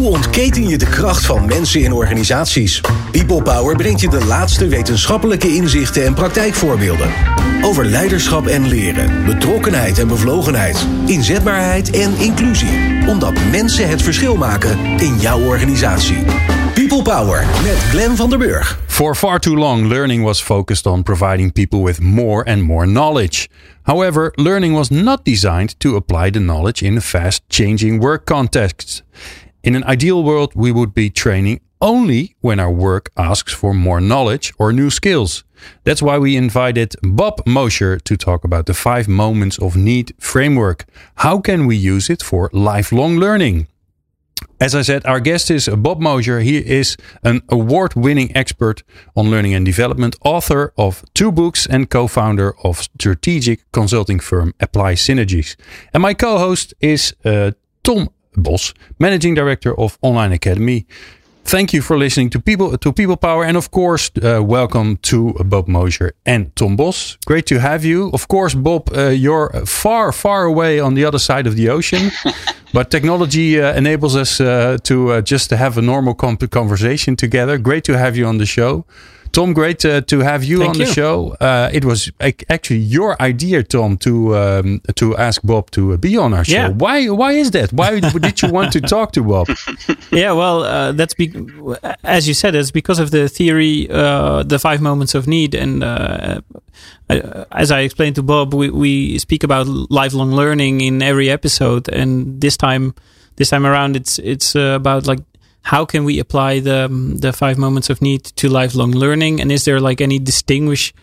Hoe ontketen je de kracht van mensen in organisaties? People Power brengt je de laatste wetenschappelijke inzichten en praktijkvoorbeelden. Over leiderschap en leren, betrokkenheid en bevlogenheid, inzetbaarheid en inclusie. Omdat mensen het verschil maken in jouw organisatie. People Power met Glenn van der Burg. For far too long, learning was focused on providing people with more and more knowledge. However, learning was not designed to apply the knowledge in a fast-changing work context. In an ideal world, we would be training only when our work asks for more knowledge or new skills. That's why we invited Bob Mosher to talk about the 5 Moments of Need framework. How can we use it for lifelong learning? As I said, our guest is Bob Mosher. He is an award-winning expert on learning and development, author of 2 books and co-founder of strategic consulting firm Apply Synergies. And my co-host is Tom Bos, Managing Director of Online Academy. Thank you for listening to People Power. And of course, welcome to Bob Mosher and Tom Bos. Great to have you. Of course, Bob, you're far, far away on the other side of the ocean. But technology enables us to just have a normal conversation together. Great to have you on the show. Tom, great to have you on the show. It was actually your idea, Tom, to ask Bob to be on our show. Yeah. Why is that? Why did you want to talk to Bob? Yeah, well, as you said, it's because of the theory, the 5 moments of need. And as I explained to Bob, we speak about lifelong learning in every episode. And this time around, it's about like, how can we apply the 5 moments of need to lifelong learning? And is there like any distinguished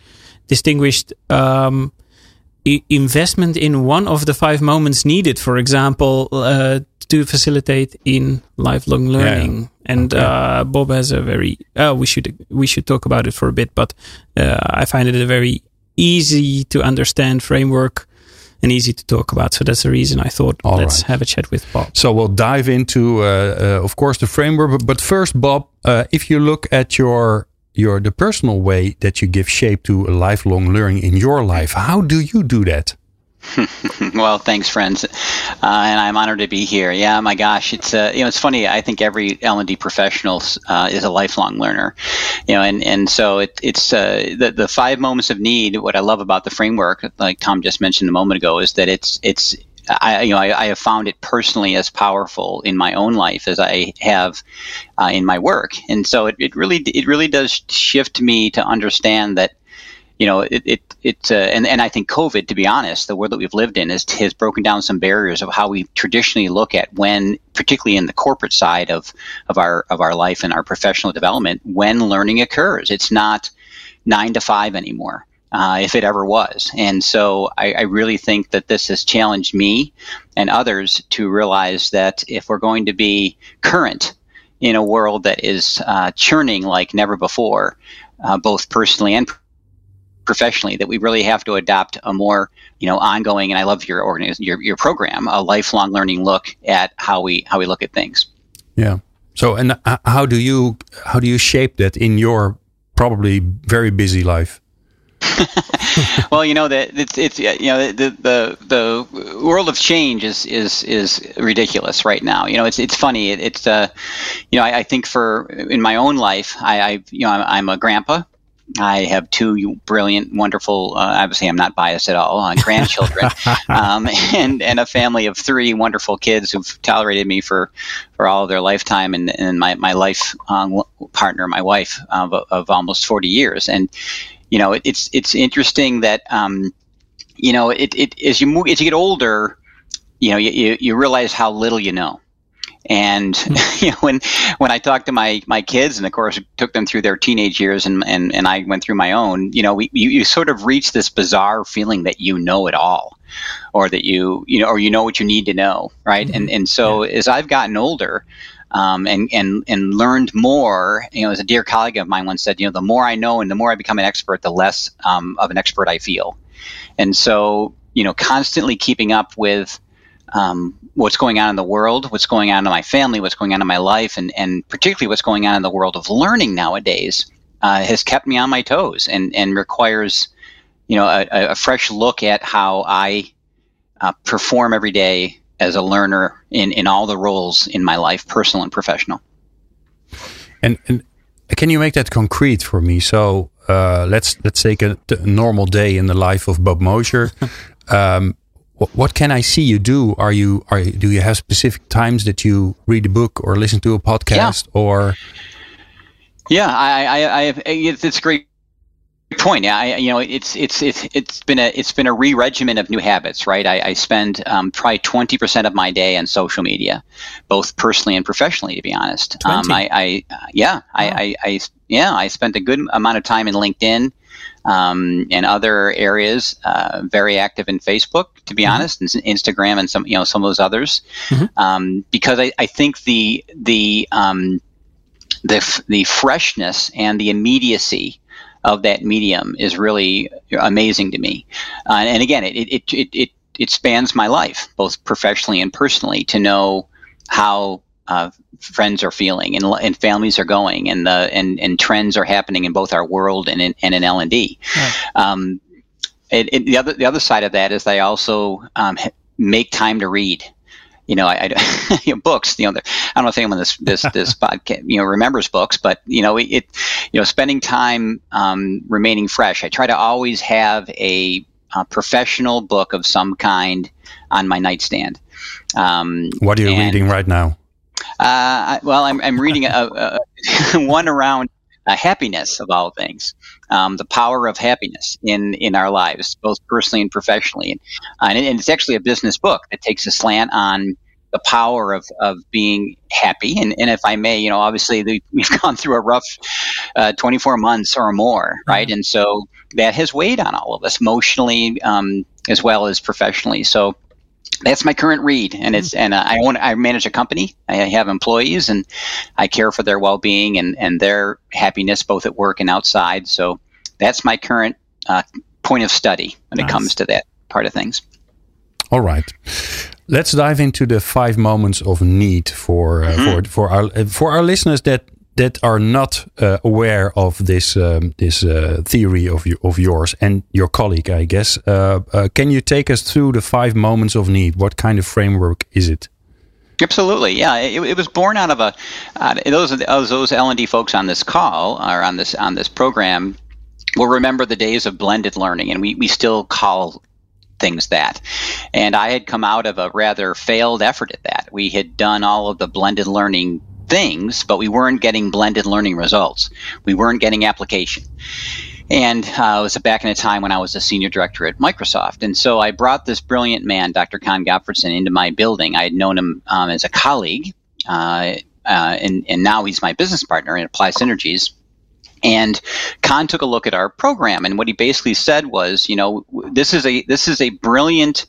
investment in one of the 5 moments needed, for example, to facilitate in lifelong learning? Yeah. And Bob has a very we should talk about it for a bit, but I find it a very easy to understand framework and easy to talk about. So that's the reason I thought let's have a chat with Bob. So we'll dive into, of course, the framework. But first, Bob, if you look at the personal way that you give shape to lifelong learning in your life, how do you do that? Well, thanks, friends, and I'm honored to be here. Yeah, my gosh, it's it's funny. I think every L&D professional is a lifelong learner, and so it's the 5 moments of need. What I love about the framework, like Tom just mentioned a moment ago, is that I have found it personally as powerful in my own life as I have in my work, and so it really does shift me to understand that. And I think COVID, to be honest, the world that we've lived in has broken down some barriers of how we traditionally look at when, particularly in the corporate side of our life and our professional development, when learning occurs. It's not 9 to 5 anymore, if it ever was. And so I really think that this has challenged me and others to realize that if we're going to be current in a world that is churning like never before, both personally and professionally, that we really have to adopt a more, ongoing, and I love your program, a lifelong learning look at how we look at things. Yeah. So, and how do you shape that in your probably very busy life? Well, the world of change is ridiculous right now. It's funny. I think in my own life, I'm a grandpa. I have 2 brilliant, wonderful, obviously I'm not biased at all, grandchildren, and a family of 3 wonderful kids who've tolerated me for all of their lifetime, and my life partner, my wife, of almost 40 years. And, it's interesting that, as you get older, you realize how little you know. And when I talk to my kids, and of course took them through their teenage years, and I went through my own, you sort of reach this bizarre feeling that you know it all, or that you know what you need to know, right? Mm-hmm. And so as I've gotten older, and learned more, as a dear colleague of mine once said, the more I know and the more I become an expert, the less of an expert I feel. And so constantly keeping up with what's going on in the world, what's going on in my family, what's going on in my life, and particularly what's going on in the world of learning nowadays, has kept me on my toes and requires, a fresh look at how I perform every day as a learner in all the roles in my life, personal and professional. And can you make that concrete for me? So let's take a normal day in the life of Bob Mosher. What can I see you do? Do you have specific times that you read a book or listen to a podcast or? Yeah, I have. It's a great point. It's been a re-regimen of new habits, right? I spend probably 20% of my day on social media, both personally and professionally, to be honest. 20? I spent a good amount of time in LinkedIn and other areas. Very active in Facebook, to be honest, and Instagram and some of those others, because I think the freshness and the immediacy of that medium is really amazing to me. And again, it spans my life, both professionally and personally, to know how friends are feeling and families are going, and trends are happening in both our world and in L&D. Right. The other side of that is I also make time to read. Books. I don't know if anyone this podcast remembers books, but spending time remaining fresh. I try to always have a professional book of some kind on my nightstand. What are you reading right now? I'm reading one around happiness, of all things, the power of happiness in our lives, both personally and professionally. And it's actually a business book that takes a slant on the power of being happy. And if I may, obviously we've gone through a rough 24 months or more, right? And so that has weighed on all of us emotionally, as well as professionally. So that's my current read, and I manage a company. I have employees, and I care for their well-being and their happiness, both at work and outside. So that's my current point of study when it comes to that part of things. All right, let's dive into the 5 moments of need for our listeners that are not aware of this theory of yours and your colleague, I guess. Can you take us through the 5 moments of need? What kind of framework is it? Absolutely, yeah. It was born out of those L&D folks on this call or on this program will remember the days of blended learning, and we still call things that. And I had come out of a rather failed effort at that. We had done all of the blended learning things, but we weren't getting blended learning results. We weren't getting application. And it was back in a time when I was a senior director at Microsoft. And so I brought this brilliant man, Dr. Con Gottfredson, into my building. I had known him as a colleague, and now he's my business partner in Apply Synergies. And Con took a look at our program, and what he basically said was, this is a brilliant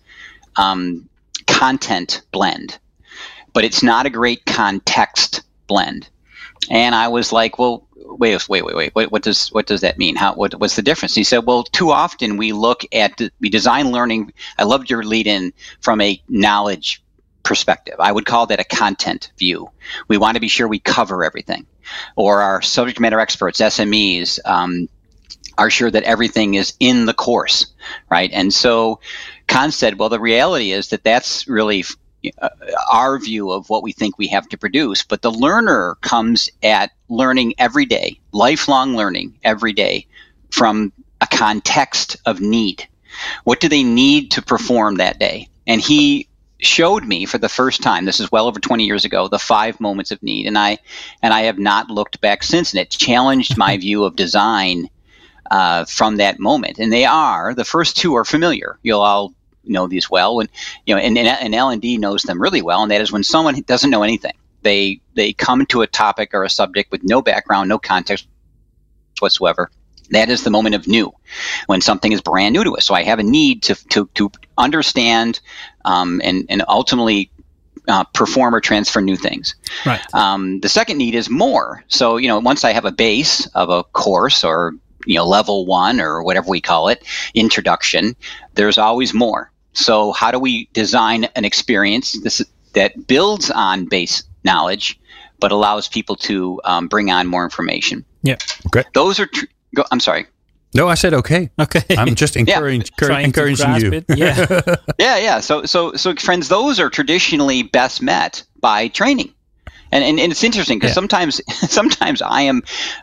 content blend, but it's not a great context blend. And I was like, well, wait, what does that mean? What's the difference? He said, well, too often we design learning. I loved your lead in from a knowledge perspective. I would call that a content view. We want to be sure we cover everything, or our subject matter experts, SMEs, are sure that everything is in the course, right? And so Con said, well, the reality is that that's really our view of what we think we have to produce, but the learner comes at learning every day, lifelong learning every day, from a context of need. What do they need to perform that day? And he showed me for the first time, this is well over 20 years ago, the 5 moments of need, and I have not looked back since. And it challenged my view of design from that moment. And the first 2 are familiar. You'll all know these well, and L&D knows them really well. And that is when someone doesn't know anything, they come to a topic or a subject with no background, no context whatsoever. That is the moment of new, when something is brand new to us. So I have a need to understand and ultimately perform or transfer new things. Right. The second need is more. So once I have a base of a course or level 1 or whatever we call it, introduction, there's always more. So how do we design an experience that builds on base knowledge, but allows people to bring on more information? Yeah. Okay. Those are. I'm sorry. No, I said okay. Okay. I'm just encouraging you. It. Yeah. Yeah. So friends, those are traditionally best met by training. And it's interesting because sometimes I am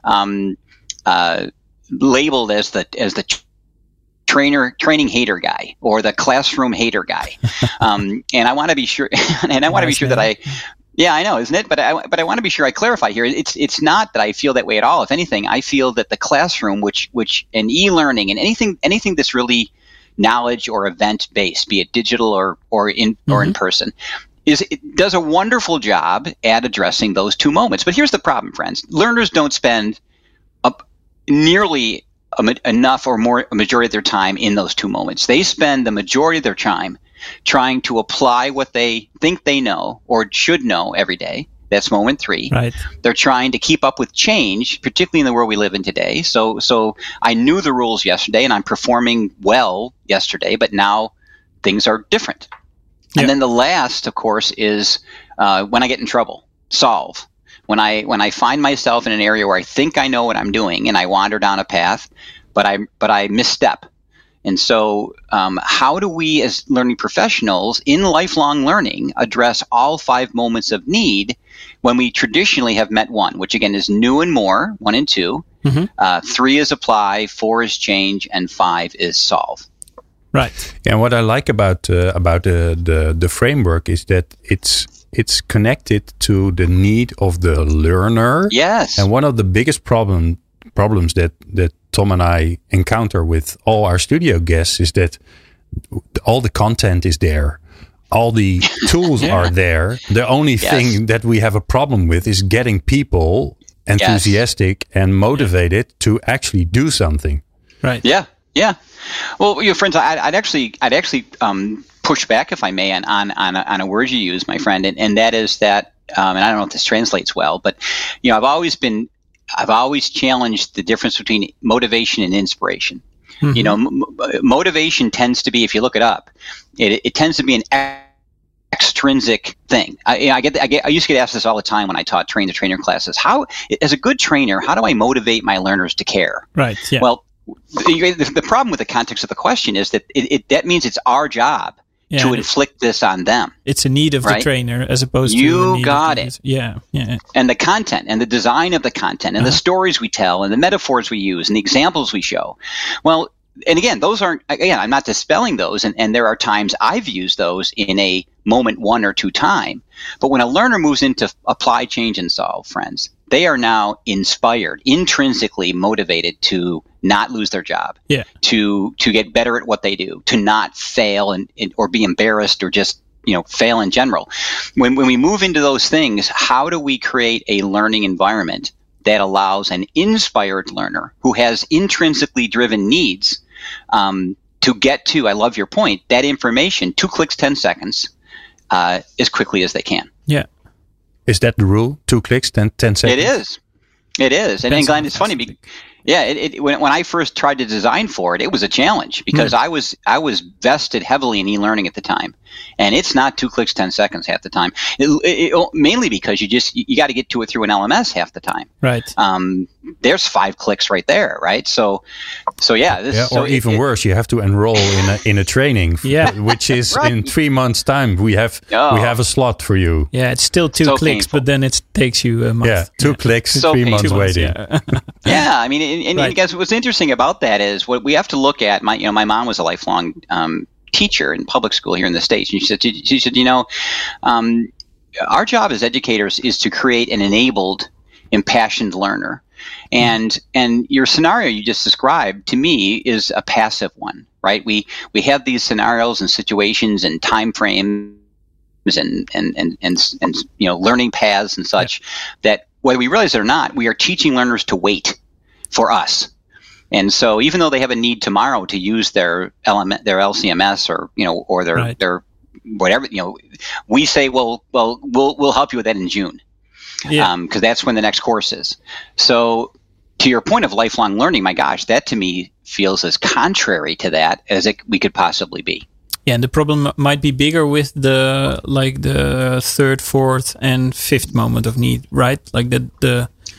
labeled as the training hater guy or the classroom hater guy, and I want to be sure. And I want to be sure that I know, isn't it? But I want to be sure I clarify here. It's not that I feel that way at all. If anything, I feel that the classroom, which and e-learning and anything that's really knowledge or event based, be it digital or in person, it does a wonderful job at addressing those two moments. But here's the problem, friends. Learners don't spend nearly enough or more a majority of their time in those two moments. They spend the majority of their time trying to apply what they think they know or should know every day. That's moment 3. Right. They're trying to keep up with change, particularly in the world we live in today. So I knew the rules yesterday and I'm performing well yesterday, but now things are different. Yeah. And then the last, of course, is when I get in trouble, solve. When I find myself in an area where I think I know what I'm doing and I wander down a path, but I misstep. And so how do we as learning professionals in lifelong learning address all 5 moments of need when we traditionally have met 1, which again is new and more, 1 and 2. 3 is apply, 4 is change, and 5 is solve. Right. And what I like about the framework is that it's connected to the need of the learner. Yes. And one of the biggest problems that Tom and I encounter with all our studio guests is that all the content is there. All the tools are there. The only thing that we have a problem with is getting people enthusiastic and motivated to actually do something. Right. Yeah. Yeah. Well, friends, I'd actually push back, if I may, on a word you use, my friend, and that is that, and I don't know if this translates well, but I've always challenged the difference between motivation and inspiration. Motivation tends to be, if you look it up, it tends to be an extrinsic thing. I used to get asked this all the time when I taught train-the-trainer classes. As a good trainer, how do I motivate my learners to care? Right. Yeah. Well, the problem with the context of the question is that that means it's our job to inflict this on them. It's a need of the trainer as opposed to you got it. Yeah. And the content and the design of the content and the stories we tell and the metaphors we use and the examples we show. Well, and again, those aren't. Again, I'm not dispelling those, and there are times I've used those in a moment 1 or 2 time. But when a learner moves into apply, change, and solve, friends, they are now inspired, intrinsically motivated to not lose their job, to get better at what they do, to not fail or be embarrassed or just fail in general. When we move into those things, how do we create a learning environment that allows an inspired learner who has intrinsically driven needs to get to, I love your point, that information, 2 clicks, 10 seconds, as quickly as they can. Yeah. Is that the rule? 2 clicks, 10 seconds? It is. And Glenn, it's funny. When I first tried to design for it, it was a challenge because I was vested heavily in e-learning at the time, and it's not 2 clicks, 10 seconds half the time. Mainly because you got to get to it through an LMS half the time. Right. There's 5 clicks right there. Right. So yeah. Or even worse, you have to enroll in a training. Which is in 3 months' time. We have a slot for you. Yeah, it's still 2 clicks, painful. But then it takes you a month. Yeah, 2 clicks, 3 months waiting. Yeah, I mean, and guys, what's interesting about that is what we have to look at. My mom was a lifelong teacher in public school here in the States, and she said, our job as educators is to create an enabled, impassioned learner, and your scenario you just described to me is a passive one, right? We have these scenarios and situations and time frames and learning paths and such that whether we realize it or not, we are teaching learners to wait for us. And so even though they have a need tomorrow to use their LCMS or their whatever, we say, well, we'll help you with that in June. Because that's when the next course is. So to your point of lifelong learning, my gosh, that to me feels as contrary to that as we could possibly be. Yeah, and the problem might be bigger with the 3rd, 4th, and 5th moment of need, right? Like the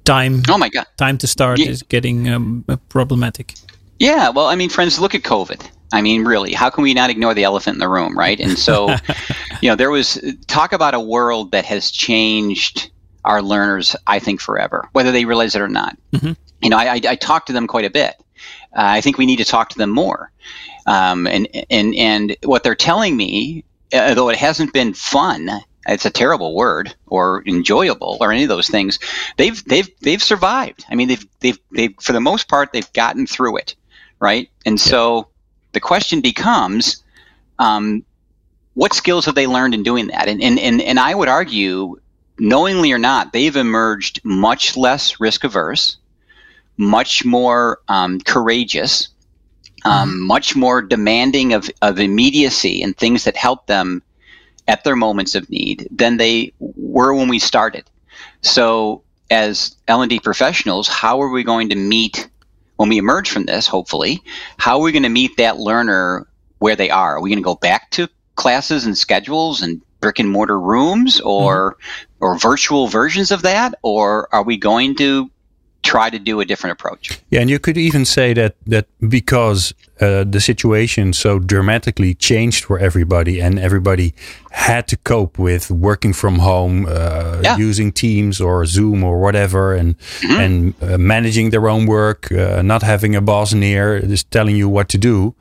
time. Oh my God. Time to start is getting problematic. Yeah, well, I mean, friends, look at COVID. I mean, really, how can we not ignore the elephant in the room, right? And so, there was talk about a world that has changed our learners, I think, forever, whether they realize it or not. Mm-hmm. I talk to them quite a bit. I think we need to talk to them more. And what they're telling me, though it hasn't been fun, it's a terrible word, or enjoyable, or any of those things, they've survived. I mean, they've for the most part, they've gotten through it, right? And so the question becomes, what skills have they learned in doing that? And I would argue, knowingly or not, they've emerged much less risk averse, much more courageous, much more demanding of immediacy and things that help them at their moments of need than they were when we started. So as L&D professionals, how are we going to meet, when we emerge from this, hopefully, how are we going to meet that learner where they are? Are we going to go back to classes and schedules and brick and mortar rooms, or virtual versions of that? Or are we going to try to do a different approach? Yeah, and you could even say that because the situation so dramatically changed for everybody, and everybody had to cope with working from home, using Teams or Zoom or whatever, and managing their own work, not having a boss near just telling you what to do.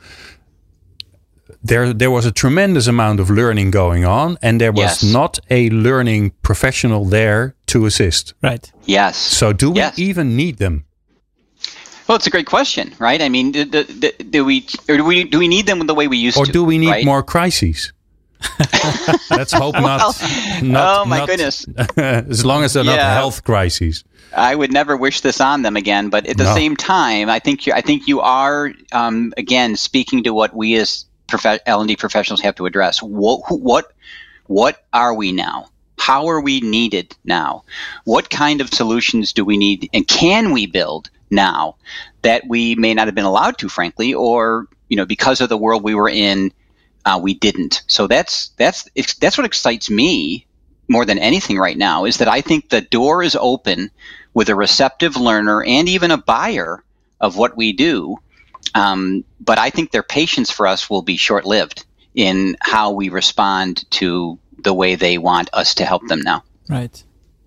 There was a tremendous amount of learning going on, and there was not a learning professional there to assist. Right. Yes. So do we even need them? Well, it's a great question, right? I mean, do we need them the way we used to? Or do we need more crises? Let's hope not. Oh my goodness! As long as they're not health crises. I would never wish this on them again. But at the same time, I think you are again speaking to what we as L&D professionals have to address. What are we now? How are we needed now? What kind of solutions do we need, and can we build now that we may not have been allowed to, frankly, or because of the world we were in, we didn't. So that's what excites me more than anything right now, is that I think the door is open with a receptive learner and even a buyer of what we do. But I think their patience for us will be short-lived in how we respond to the way they want us to help them now. Right.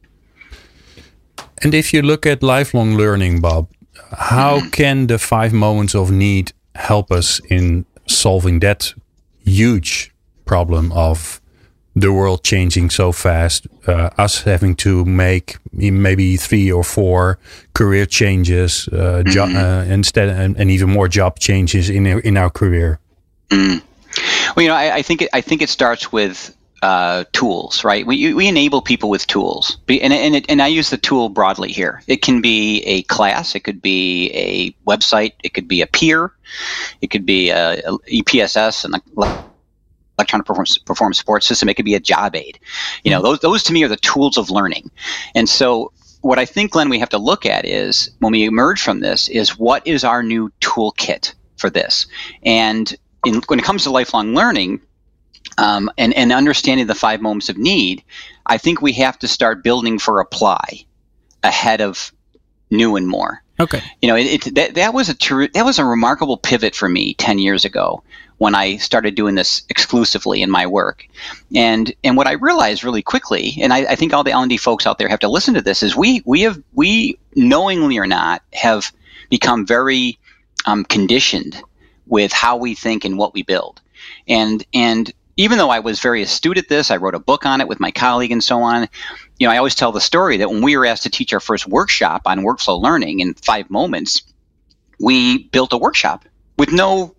And if you look at lifelong learning, Bob, how can the 5 moments of need help us in solving that huge problem of the world changing so fast, us having to make maybe 3 or 4 career changes instead, and even more job changes in our career? Well, I think it starts with tools, right? We enable people with tools, and I use the tool broadly here. It can be a class, it could be a website, it could be a peer, it could be a EPSS and electronic performance support system. It could be a job aid. Those to me are the tools of learning. And so what I think, Glenn, we have to look at is, when we emerge from this, is what is our new toolkit for this? And when it comes to lifelong learning, and understanding the 5 moments of need, I think we have to start building for apply ahead of new and more. Okay. That was a remarkable pivot for me 10 years ago when I started doing this exclusively in my work. And what I realized really quickly, and I think all the L&D folks out there have to listen to this, is we knowingly or not have become very conditioned with how we think and what we build. And even though I was very astute at this, I wrote a book on it with my colleague and so on. I always tell the story that when we were asked to teach our first workshop on workflow learning in 5 moments, we built a workshop with no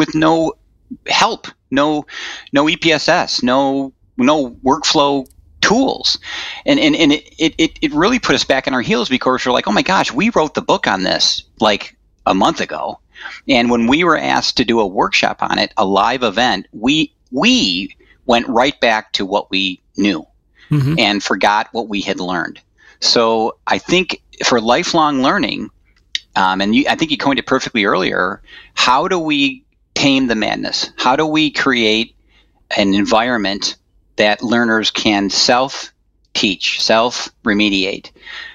help, no EPSS, no workflow tools, and it really put us back on our heels, because we're like, oh my gosh, we wrote the book on this like a month ago, and when we were asked to do a workshop on it, a live event, we went right back to what we knew and forgot what we had learned. So I think for lifelong learning, I think you coined it perfectly earlier, how do we tame the madness? How do we create an environment that learners can self-teach, self-remediate,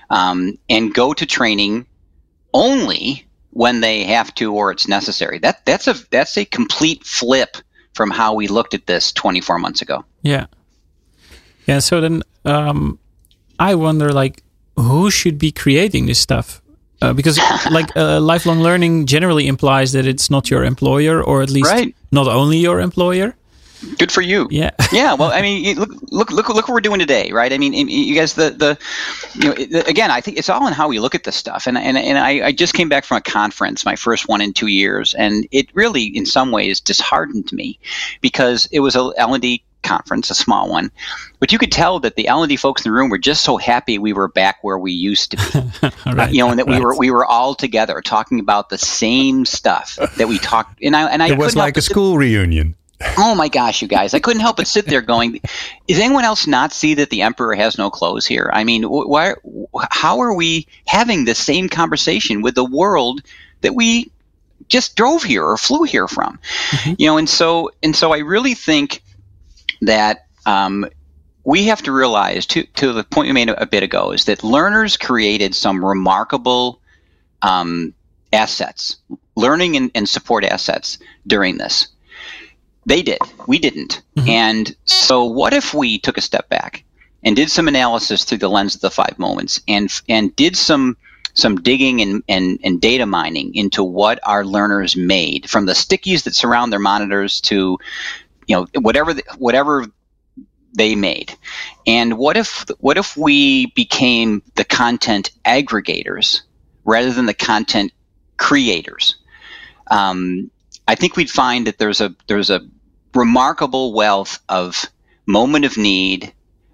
and go to training only when they have to or it's necessary. That's a complete flip from how we looked at this 24 months ago. Yeah. So then I wonder, like, who should be creating this stuff? Because lifelong learning generally implies that it's not your employer, or at least not only your employer. Good for you. Yeah. Yeah. Well, I mean, look what we're doing today, right? I mean, you guys, again, I think it's all in how we look at this stuff. And I just came back from a conference, my first one in 2 years, and it really, in some ways, disheartened me because it was a L&D conference, a small one, but you could tell that the L&D folks in the room were just so happy we were back where we used to be, and that we were all together talking about the same stuff that we talked. And I it was like a school reunion. Oh my gosh, you guys! I couldn't help but sit there going, "Does anyone else not see that the emperor has no clothes here? I mean, how are we having the same conversation with the world that we just drove here or flew here from?" And so I really think that we have to realize, to the point we made a bit ago, is that learners created some remarkable assets, learning and support assets during this. They did. We didn't. And so what if we took a step back and did some analysis through the lens of the 5 moments and did some digging and data mining into what our learners made, from the stickies that surround their monitors to whatever they made. And what if we became the content aggregators rather than the content creators? I think we'd find that there's a remarkable wealth of moment of need,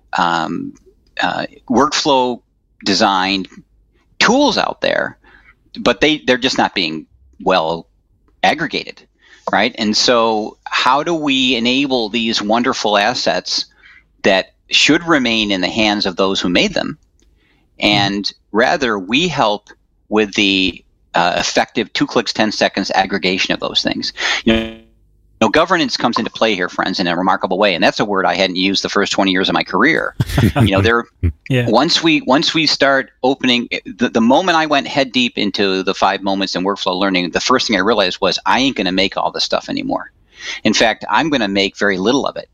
workflow designed tools out there, but they're just not being well aggregated, right? And so how do we enable these wonderful assets that should remain in the hands of those who made them, and rather we help with the effective 2 clicks, 10 seconds aggregation of those things? Governance comes into play here, friends, in a remarkable way, and that's a word I hadn't used the first 20 years of my career. Once we start opening, the moment I went head deep into the 5 moments in workflow learning, the first thing I realized was I ain't going to make all this stuff anymore. In fact, I'm going to make very little of it.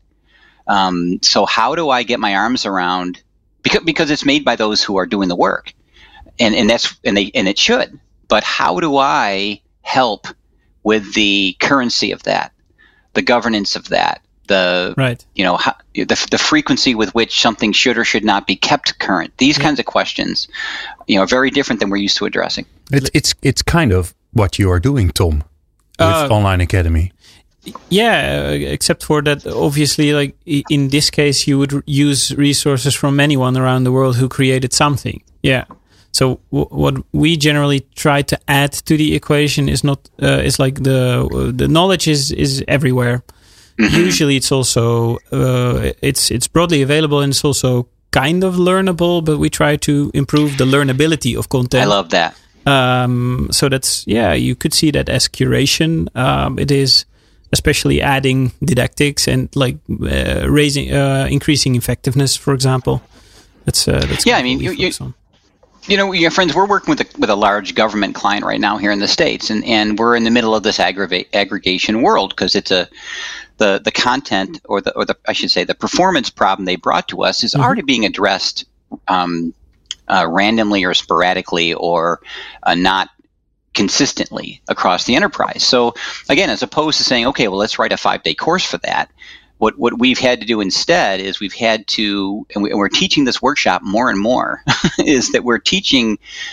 So how do I get my arms around, because it's made by those who are doing the work, and it should. But how do I help with the currency of that, the governance of that, the frequency with which something should or should not be kept current? These kinds of questions, are very different than we're used to addressing. It's kind of what you are doing, Tom, with Online Academy. Yeah, except for that, obviously, like in this case, you would use resources from anyone around the world who created something. Yeah. So what we generally try to add to the equation is not is like the knowledge is everywhere. Usually, it's also it's broadly available, and it's also kind of learnable. But we try to improve the learnability of content. I love that. So that's you could see that as curation. It is especially adding didactics and like increasing effectiveness, for example. That's I mean friends, we're working with a large government client right now here in the States, and we're in the middle of this aggregation world because it's the content or the I should say the performance problem they brought to us is already being addressed randomly or sporadically or not consistently across the enterprise. So again, as opposed to saying, okay, well, let's write a 5-day course for that, what we've had to do instead is we've had to, and we're teaching this workshop more and more, is that we're teaching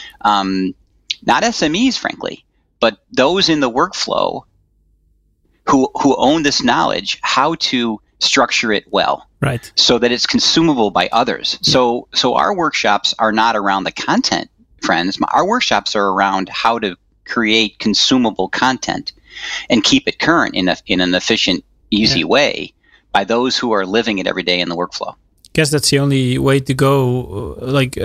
not SMEs, frankly, but those in the workflow who own this knowledge, how to structure it well, right, so that it's consumable by others. Yeah. So our workshops are not around the content, friends. Our workshops are around how to create consumable content and keep it current in an efficient, easy way by those who are living it every day in the workflow. I guess that's the only way to go.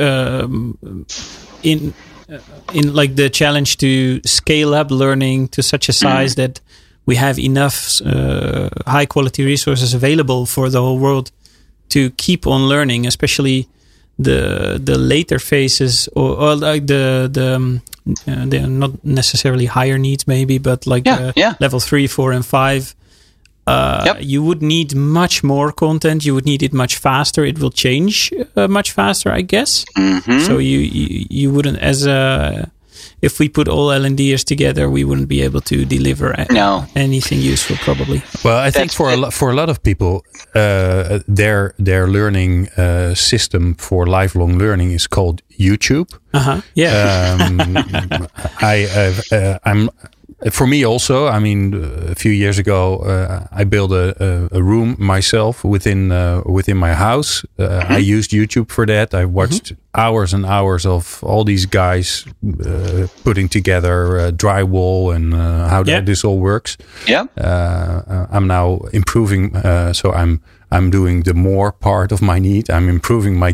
In like the challenge to scale up learning to such a size that we have enough high quality resources available for the whole world to keep on learning, especially the later phases or like they're not necessarily higher needs maybe, but like level 3, 4, and 5. You would need much more content. You would need it much faster. It will change much faster, I guess. Mm-hmm. So you wouldn't, if we put all L&Ders together, we wouldn't be able to deliver anything useful, probably. Well, I think for a lot of people, their learning system for lifelong learning is called YouTube. For me also, I mean, a few years ago, I built a room myself within my house. I used YouTube for that. I watched hours and hours of all these guys putting together drywall and how this all works. Yeah. I'm now improving, so I'm doing the more part of my need. I'm improving my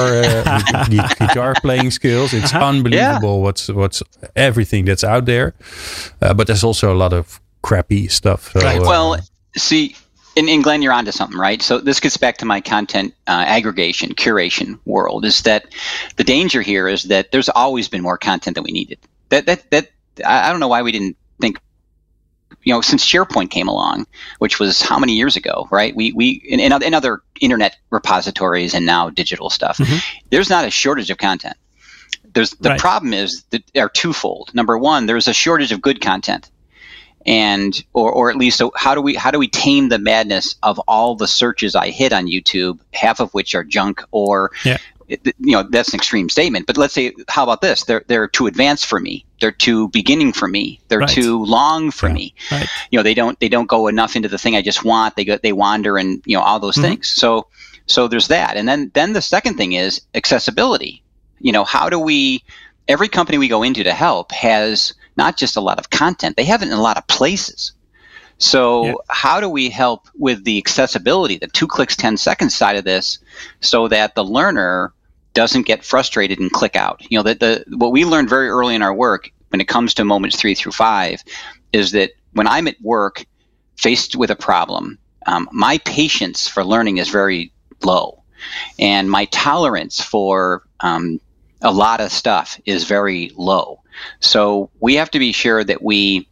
guitar playing skills. It's unbelievable what's everything that's out there. But there's also a lot of crappy stuff. So, right. Well, see, and Glenn, you're onto something, right? So this gets back to my content aggregation, curation world. Is that the danger here? Is that there's always been more content than we needed. That I don't know why we didn't think. Since SharePoint came along, which was how many years ago, right? We in other internet repositories and now digital stuff, there's not a shortage of content. The problem is that they're twofold. Number one, there's a shortage of good content, and or at least, so how do we tame the madness of all the searches I hit on YouTube, half of which are junk or. That's an extreme statement, but let's say, how about this? They're too advanced for me. They're too beginning for me. They're too long for me. Right. They don't go enough into the thing I just want. They wander and all those things. So there's that. And then the second thing is accessibility. How do every company we go into to help has not just a lot of content, they have it in a lot of places. So how do we help with the accessibility, the 2 clicks, 10 seconds side of this, so that the learner doesn't get frustrated and click out? What we learned very early in our work when it comes to moments 3 through 5 is that when I'm at work faced with a problem, my patience for learning is very low, and my tolerance for a lot of stuff is very low. So we have to be sure that we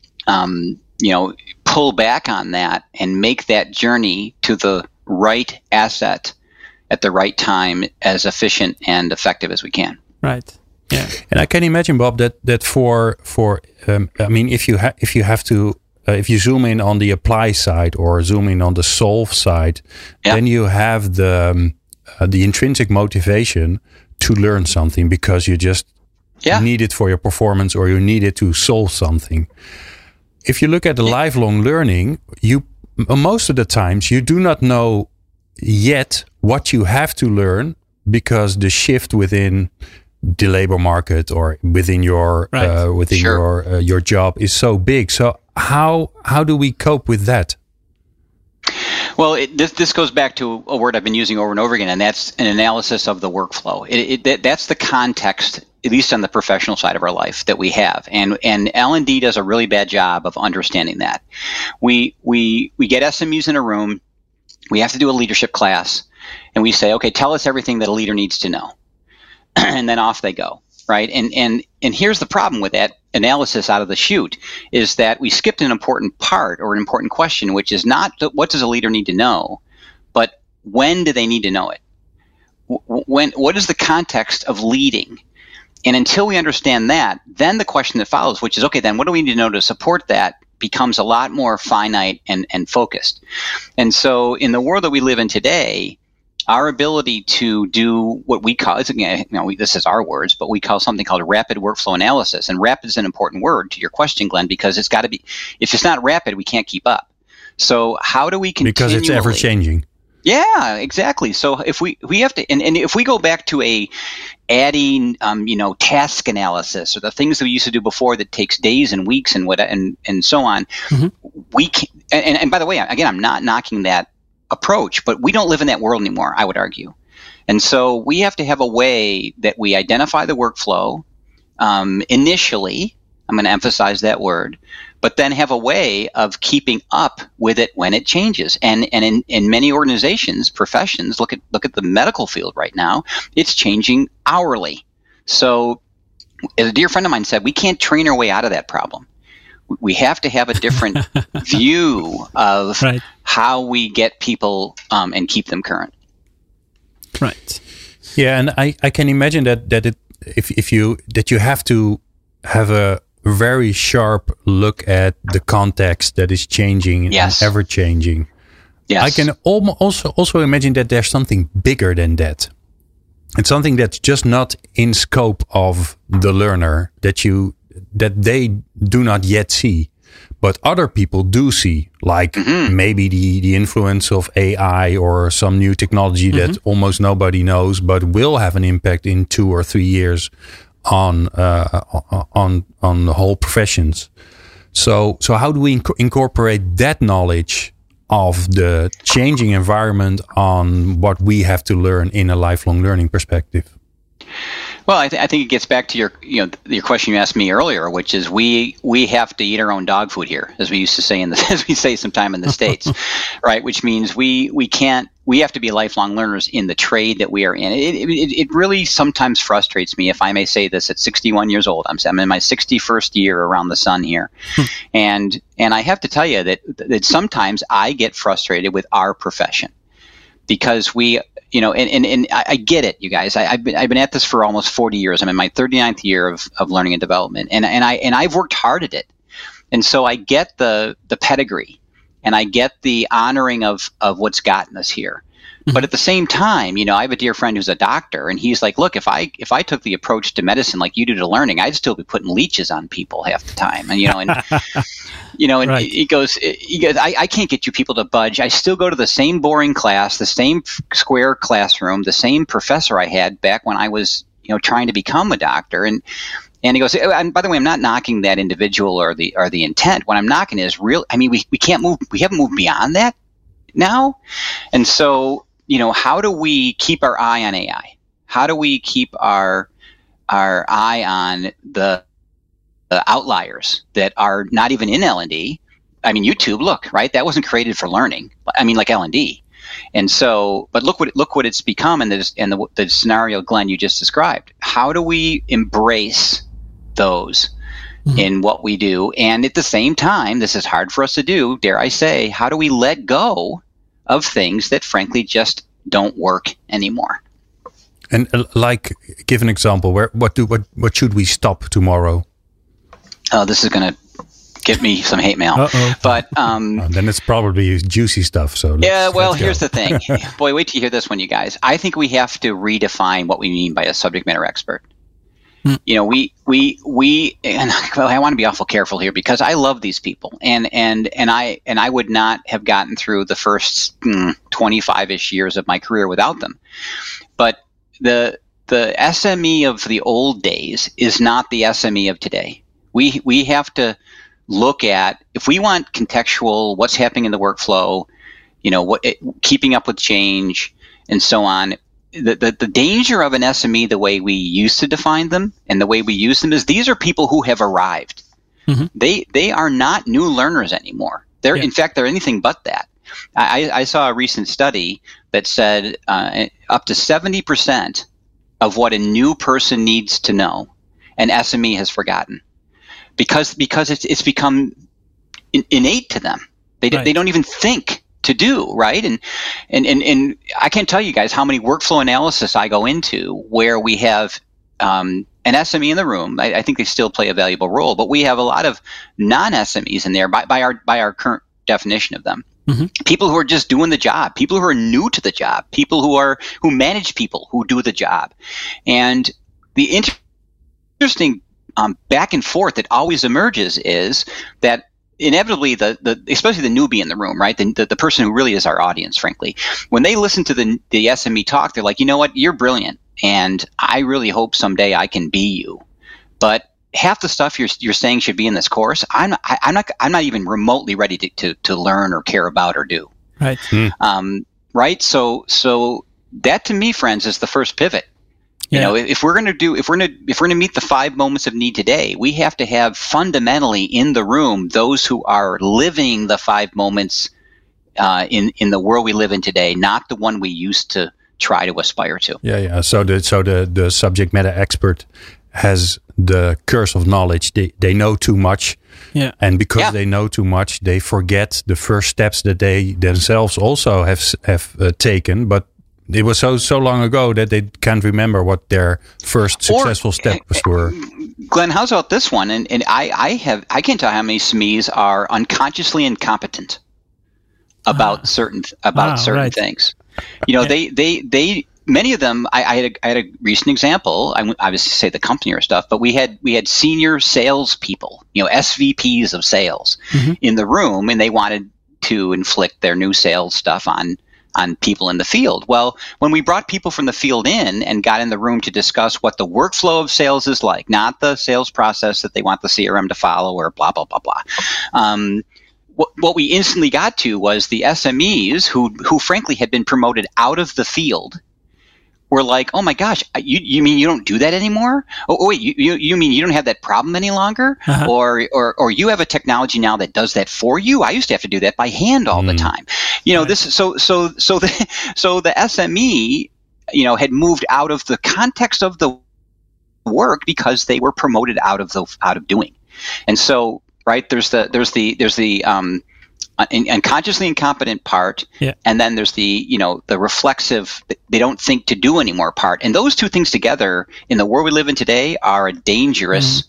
pull back on that and make that journey to the right asset at the right time as efficient and effective as we can. Right. Yeah. And I can imagine, Bob, that for if you zoom in on the apply side or zoom in on the solve side, then you have the intrinsic motivation to learn something because you just need it for your performance or you need it to solve something. If you look at the lifelong learning, most of the times you do not know yet what you have to learn because the shift within the labor market or within your your job is so big. So how do we cope with that? Well, this goes back to a word I've been using over and over again, and that's an analysis of the workflow. That's the context, at least on the professional side of our life, that we have. And L&D does a really bad job of understanding that. We get SMUs in a room, we have to do a leadership class, and we say, okay, tell us everything that a leader needs to know. And then off they go, right? And here's the problem with that analysis out of the chute is that we skipped an important part or an important question, which is not what does a leader need to know, but when do they need to know it? What is the context of leading? And until we understand that, then the question that follows, which is, okay, then what do we need to know to support that, becomes a lot more finite and focused. And so in the world that we live in today, our ability to do what we call, this is our words, but we call something called rapid workflow analysis. And rapid is an important word to your question, Glenn, because it's got to be, if it's not rapid, we can't keep up. So how do we continue? Because it's ever changing. Yeah, exactly. So if we have to, and if we go back to adding, task analysis or the things that we used to do before that takes days and weeks and so on, we can. And by the way, again, I'm not knocking that approach, but we don't live in that world anymore, I would argue. And so we have to have a way that we identify the workflow initially. I'm going to emphasize that word, but then have a way of keeping up with it when it changes. And in many organizations, professions, look at the medical field right now, it's changing hourly. So as a dear friend of mine said, we can't train our way out of that problem. We have to have a different view of how we get people and keep them current. Right. Yeah, and I can imagine that you have to have a very sharp look at the context that is changing and ever changing. Yes. I can also imagine that there's something bigger than that. It's something that's just not in scope of the learner that they do not yet see, but other people do see, like maybe the influence of AI or some new technology that almost nobody knows, but will have an impact in 2 or 3 years on the whole professions. So how do we incorporate that knowledge of the changing environment on what we have to learn in a lifelong learning perspective? Well, I think it gets back to your question you asked me earlier, which is we have to eat our own dog food here, as we used to say as we say sometime in the States, right? Which means we have to be lifelong learners in the trade that we are in. It really sometimes frustrates me, if I may say this, at 61 years old. I'm in my 61st year around the sun here, and I have to tell you that sometimes I get frustrated with our profession because we. And I get it, you guys. I've been at this for almost 40 years. I'm in my 39th year of learning and development, and I've worked hard at it, and so I get the pedigree, and I get the honoring of what's gotten us here. But at the same time, I have a dear friend who's a doctor, and he's like, look, if I took the approach to medicine like you do to learning, I'd still be putting leeches on people half the time. And and he goes, I can't get you people to budge. I still go to the same boring class, the same square classroom, the same professor I had back when I was, trying to become a doctor. And he goes, and by the way, I'm not knocking that individual or the intent. What I'm knocking is we can't move. We haven't moved beyond that now. And so, how do we keep our eye on AI? How do we keep our eye on the outliers that are not even in L&D? I mean, YouTube, look, right? That wasn't created for learning. I mean, like L&D. And so, but look what it's become in the scenario, Glenn, you just described. How do we embrace those in what we do? And at the same time, this is hard for us to do, dare I say, how do we let go of things that frankly just don't work anymore? And give an example. What should we stop tomorrow? Oh, this is going to get me some hate mail. Uh-oh. But then it's probably juicy stuff. So here's the thing. Boy, wait till you hear this one, you guys. I think we have to redefine what we mean by a subject matter expert. We and I want to be awful careful here because I love these people, and I would not have gotten through the first 25-ish years of my career without them. But the SME of the old days is not the SME of today. We have to look at, if we want contextual, what's happening in the workflow, keeping up with change and so on. The danger of an SME, the way we used to define them and the way we use them, is these are people who have arrived. They are not new learners anymore. In fact, they're anything but that. I saw a recent study that said up to 70% of what a new person needs to know, an SME has forgotten, because it's become innate to them. They don't even think to do, right? And I can't tell you guys how many workflow analysis I go into where we have an SME in the room. I think they still play a valuable role, but we have a lot of non-SMEs in there by our current definition of them. People who are just doing the job, people who are new to the job, people who manage people who do the job. And the interesting back and forth that always emerges is that inevitably especially the newbie in the room, right? The person who really is our audience, frankly, when they listen to the SME talk, they're like, you know what, you're brilliant, and I really hope someday I can be you. But half the stuff you're saying should be in this course, I'm not even remotely ready to learn or care about or do. Right. Right. So that, to me, friends, is the first pivot. You know, if we're going to meet the 5 moments of need today, we have to have fundamentally in the room those who are living the 5 moments in the world we live in today, not the one we used to try to aspire to. Yeah. So the subject matter expert has the curse of knowledge. They know too much. Yeah. And because they know too much, they forget the first steps that they themselves also have taken. But it was so long ago that they can't remember what their first successful steps were. Glenn, how's about this one? And I can't tell how many SMEs are unconsciously incompetent about certain things. You know, they many of them. I had a recent example. I obviously say the company or stuff, but we had senior salespeople, you know, SVPs of sales in the room, and they wanted to inflict their new sales stuff on people in the field. Well, when we brought people from the field in and got in the room to discuss what the workflow of sales is like, not the sales process that they want the CRM to follow or blah, blah, blah, blah. What we instantly got to was the SMEs who frankly had been promoted out of the field were like, oh my gosh, you mean you don't do that anymore? Oh wait, you mean you don't have that problem any longer? Or you have a technology now that does that for you? I used to have to do that by hand all the time. You know, this so the SME, you know, had moved out of the context of the work because they were promoted out of doing. And so, right, there's the unconsciously incompetent part, and then there's the reflexive, they don't think to do anymore part. And those two things together in the world we live in today are a dangerous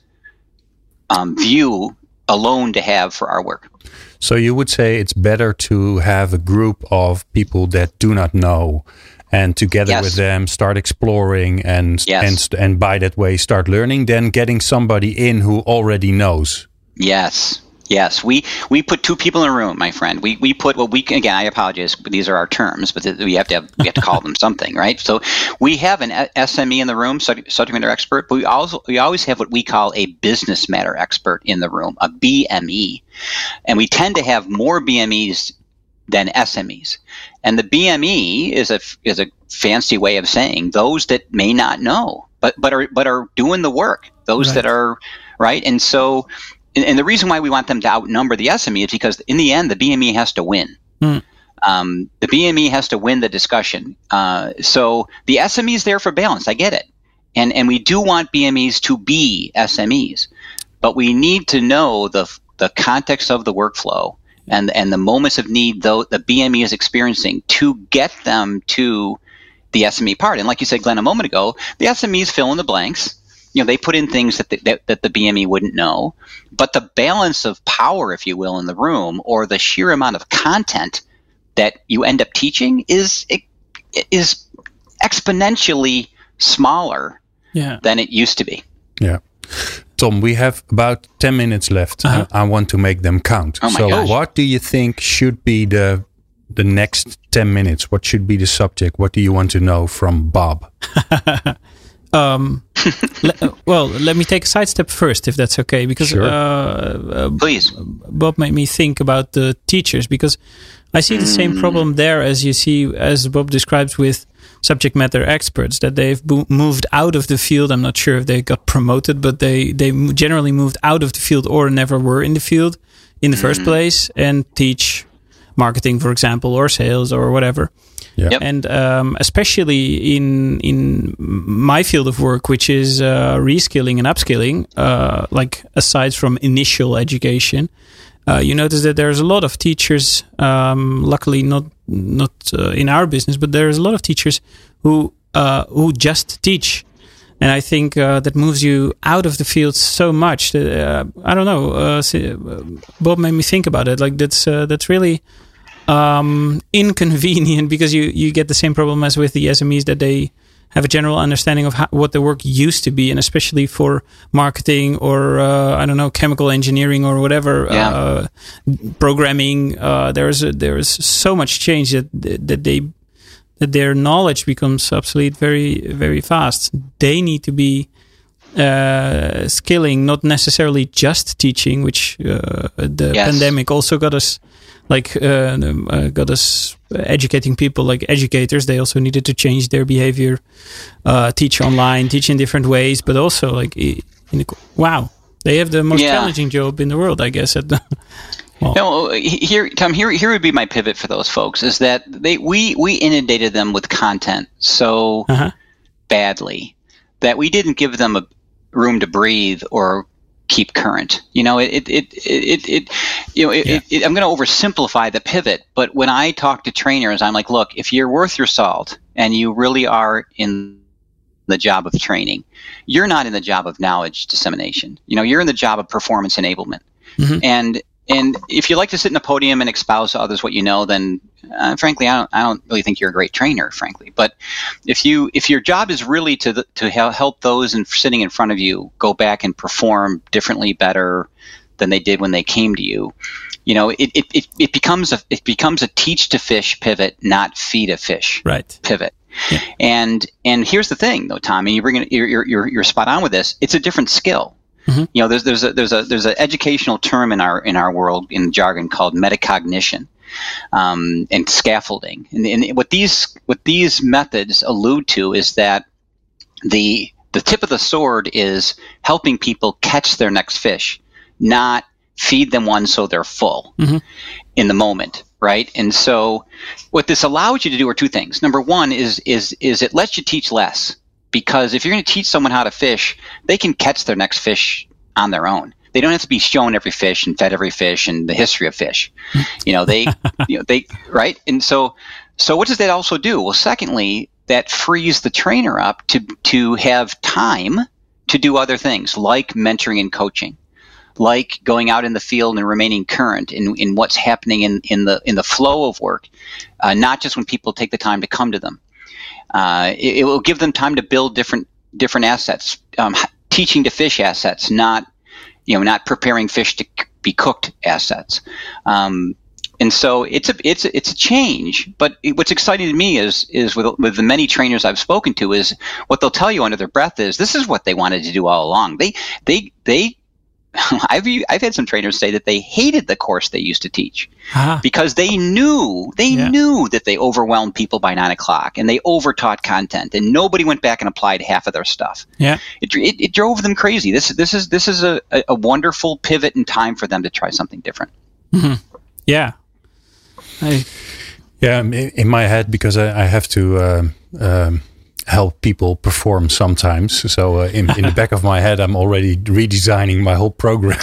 view alone to have for our work. So you would say it's better to have a group of people that do not know, and together with them start exploring and by that way start learning, than getting somebody in who already knows. Yes, we put 2 people in a room, my friend. We put again, I apologize, but these are our terms, but we have to call them something, right? So we have an SME in the room, subject matter expert, but we always have what we call a business matter expert in the room, a BME, and we tend to have more BMEs than SMEs. And the BME is a fancy way of saying those that may not know, but are doing the work. Those that are right, and so. And the reason why we want them to outnumber the SME is because in the end, the BME has to win. The BME has to win the discussion. So the SME is there for balance. I get it. And we do want BMEs to be SMEs. But we need to know the context of the workflow and the moments of need though the BME is experiencing to get them to the SME part. And like you said, Glenn, a moment ago, the SMEs fill in the blanks. You know, they put in things that the BME wouldn't know, but the balance of power, if you will, in the room, or the sheer amount of content that you end up teaching is exponentially smaller than it used to be. Yeah. Tom, we have about 10 minutes left. I want to make them count. Oh my gosh. What do you think should be the next 10 minutes? What should be the subject? What do you want to know from Bob? Let me take a sidestep first, if that's okay, because please. Bob made me think about the teachers, because I see the same problem there as Bob describes with subject matter experts, that they've moved out of the field. I'm not sure if they got promoted, but they generally moved out of the field or never were in the field in the first place, and teach marketing, for example, or sales or whatever. Yeah. Yep. And especially in my field of work, which is reskilling and upskilling, like aside from initial education, you notice that there's a lot of teachers, luckily not in our business, but there's a lot of teachers who just teach. And I think that moves you out of the field so much that, I don't know, Bob made me think about it. Like that's really inconvenient, because you get the same problem as with the SMEs, that they have a general understanding of what the work used to be, and especially for marketing or I don't know, chemical engineering or whatever, programming. There is so much change that their knowledge becomes obsolete very, very fast. They need to be skilling, not necessarily just teaching, which the pandemic also got us like got us educating people, like educators. They also needed to change their behavior, teach online, teach in different ways, but also like, wow, they have the most challenging job in the world, I guess. At the, well. No, Tom, here would be my pivot for those folks, is that we inundated them with content so badly that we didn't give them a room to breathe or keep current. I'm going to oversimplify the pivot, but when I talk to trainers, I'm like, look, if you're worth your salt and you really are in the job of training, you're not in the job of knowledge dissemination. You're in the job of performance enablement. And if you like to sit in a podium and espouse to others what you know, then frankly, I don't really think you're a great trainer, frankly. But if your job is really to help those sitting in front of you go back and perform differently, better than they did when they came to you, it becomes a teach to fish pivot, not feed a fish pivot. Yeah. And here's the thing, though, Tommy, you're spot on with this. It's a different skill. There's an educational term in our world, in jargon, called metacognition and scaffolding. And what these methods allude to is that the tip of the sword is helping people catch their next fish, not feed them one so they're full in the moment, right? And so what this allows you to do are two things. Number one is it lets you teach less. Because if you're going to teach someone how to fish, they can catch their next fish on their own. They don't have to be shown every fish and fed every fish and the history of fish. They right. And so what does that also do? Well, secondly, that frees the trainer up to have time to do other things like mentoring and coaching, like going out in the field and remaining current in what's happening in the flow of work, not just when people take the time to come to them. It will give them time to build different assets, teaching to fish assets, not preparing fish to be cooked assets. And so it's a change. But what's exciting to me is with the many trainers I've spoken to, is what they'll tell you under their breath is this is what they wanted to do all along. I've had some trainers say that they hated the course they used to teach because they knew that they overwhelmed people by 9 o'clock and they overtaught content and nobody went back and applied half of their stuff. Yeah, it drove them crazy. This is a wonderful pivot in time for them to try something different. Mm-hmm. Yeah, in my head, because I have to help people perform sometimes. So in the back of my head, I'm already redesigning my whole program.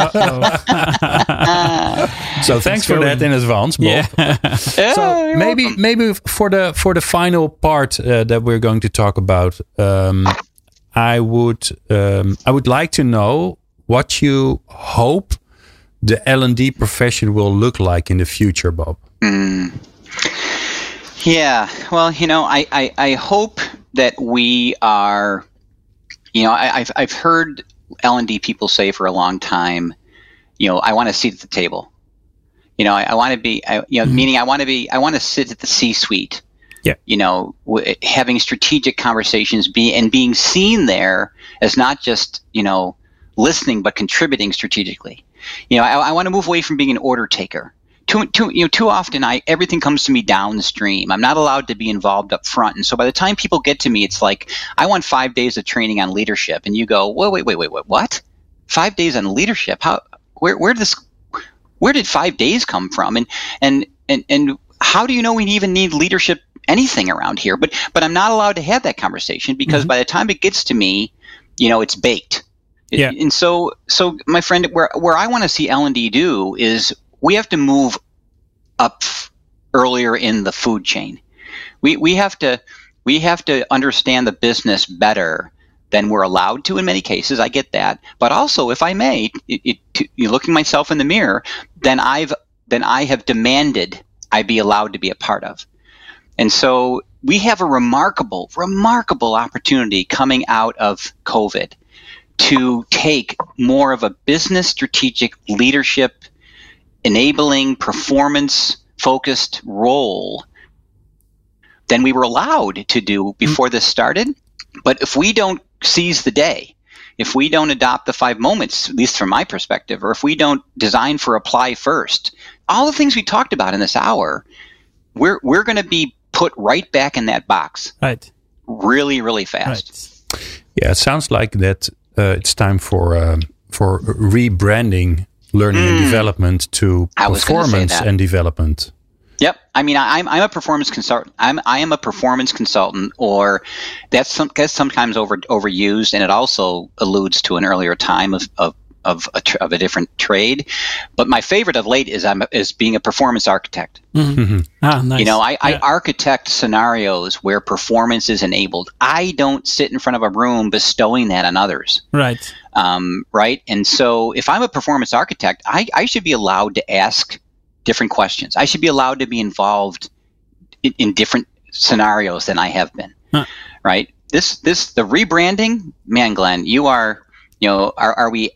So thanks for that in advance, Bob. Yeah. So maybe for the final part that we're going to talk about, I would like to know what you hope the L&D profession will look like in the future, Bob. Yeah, well, I hope that we are, I've heard L&D people say for a long time, I want a seat at the table. I want to be, meaning I want to sit at the C-suite. Yeah. Having strategic conversations, being seen there as not just, listening, but contributing strategically. I want to move away from being an order taker. Too often everything comes to me downstream. I'm not allowed to be involved up front. And so by the time people get to me, it's like, I want 5 days of training on leadership. And you go, wait, what? 5 days on leadership? Where did 5 days come from? And how do you know we even need leadership anything around here? But I'm not allowed to have that conversation because by the time it gets to me, it's baked. Yeah. And so my friend, where I want to see L&D do is we have to move up earlier in the food chain. We have to understand the business better than we're allowed to in many cases. I get that, but also, if I may, looking myself in the mirror, then I have demanded I be allowed to be a part of. And so we have a remarkable opportunity coming out of COVID to take more of a business strategic leadership enabling, performance-focused role than we were allowed to do before this started. But if we don't seize the day, if we don't adopt the 5 moments, at least from my perspective, or if we don't design for apply first, all the things we talked about in this hour, we're going to be put right back in that box. Right. Really, really fast. Right. Yeah, it sounds like that it's time for rebranding learning and development to performance and development. Yep. I mean, I'm a performance consultant. I am a performance consultant, or that's sometimes overused, and it also alludes to an earlier time of a different trade. But my favorite of late is being a performance architect. Mm-hmm. Ah, nice. You know, I architect scenarios where performance is enabled. I don't sit in front of a room bestowing that on others. Right. Right. And so if I'm a performance architect, I should be allowed to ask different questions. I should be allowed to be involved in different scenarios than I have been. Huh. Right. The rebranding, man, Glenn, you are, you know, are we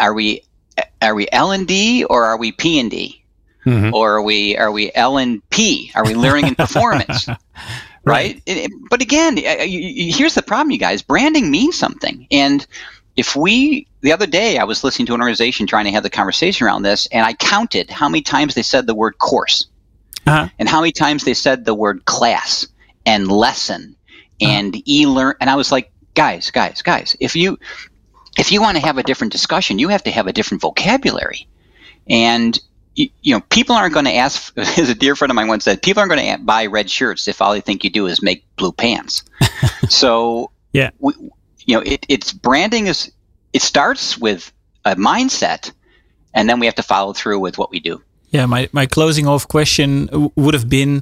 L&D or are we P&D? Mm-hmm. Or are we L&P? Are we learning and performance? Right? But again, here's the problem, you guys. Branding means something. And the other day I was listening to an organization trying to have the conversation around this, and I counted how many times they said the word course, and how many times they said the word class and lesson and e-learn. And I was like, guys, if you want to have a different discussion, you have to have a different vocabulary. And you know, people aren't going to ask, as a dear friend of mine once said, people aren't going to buy red shirts if all they think you do is make blue pants. So yeah. It's branding it starts with a mindset, and then we have to follow through with what we do. Yeah, my closing off question would have been,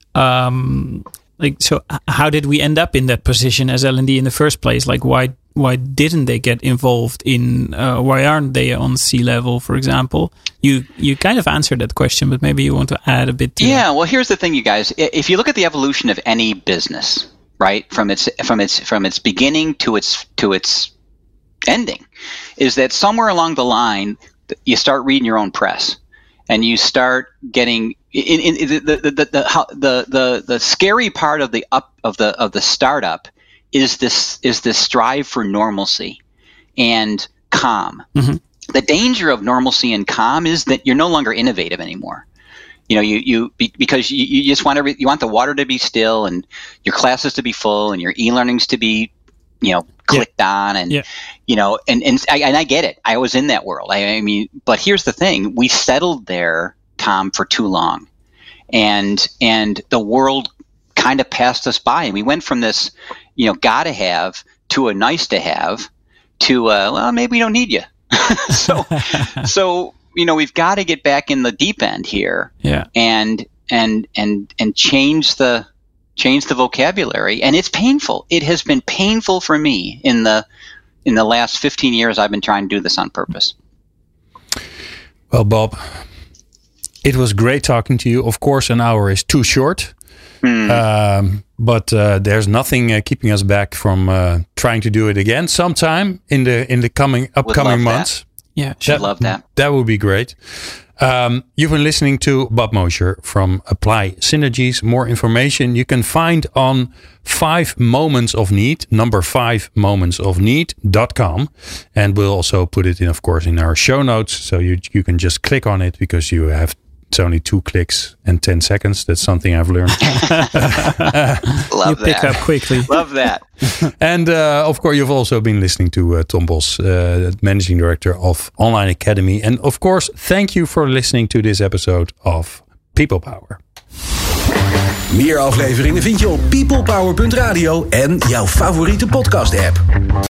so how did we end up in that position as L&D in the first place? Like, why didn't they get involved in? Why aren't they on C-level, for example? You kind of answered that question, but maybe you want to add a bit to that. Well, here's the thing, you guys. If you look at the evolution of any business, right, from its beginning to its ending, is that somewhere along the line you start reading your own press, and you start getting in the scary part of the startup is this strive for normalcy and calm. Mm-hmm. The danger of normalcy and calm is that you're no longer innovative anymore. You know, because you just want you want the water to be still, and your classes to be full, and your e-learnings to be, clicked on, and and I get it. I was in that world. I mean, but here's the thing: we settled there, Tom, for too long, and the world kind of passed us by, and we went from this, gotta have to a nice to have to well, maybe we don't need you. So we've got to get back in the deep end here, and change the vocabulary. And it's painful. It has been painful for me in the last 15 years. I've been trying to do this on purpose. Well, Bob, it was great talking to you. Of course, an hour is too short. But there's nothing keeping us back from trying to do it again sometime in the upcoming months. That. Yeah, should love that. That would be great. You've been listening to Bob Mosher from Apply Synergies. More information you can find on 5 Moments of Need, number 5momentsofneed.com. And we'll also put it in, of course, in our show notes. So you can just click on it, because it's only 2 clicks and 10 seconds. That's something I've learned. Love you pick up quickly. Love that. And of course, you've also been listening to Tom Bos, Managing Director of Online Academy. And of course, thank you for listening to this episode of People Power. Meer afleveringen vind je op peoplepower.radio en jouw favoriete podcast app.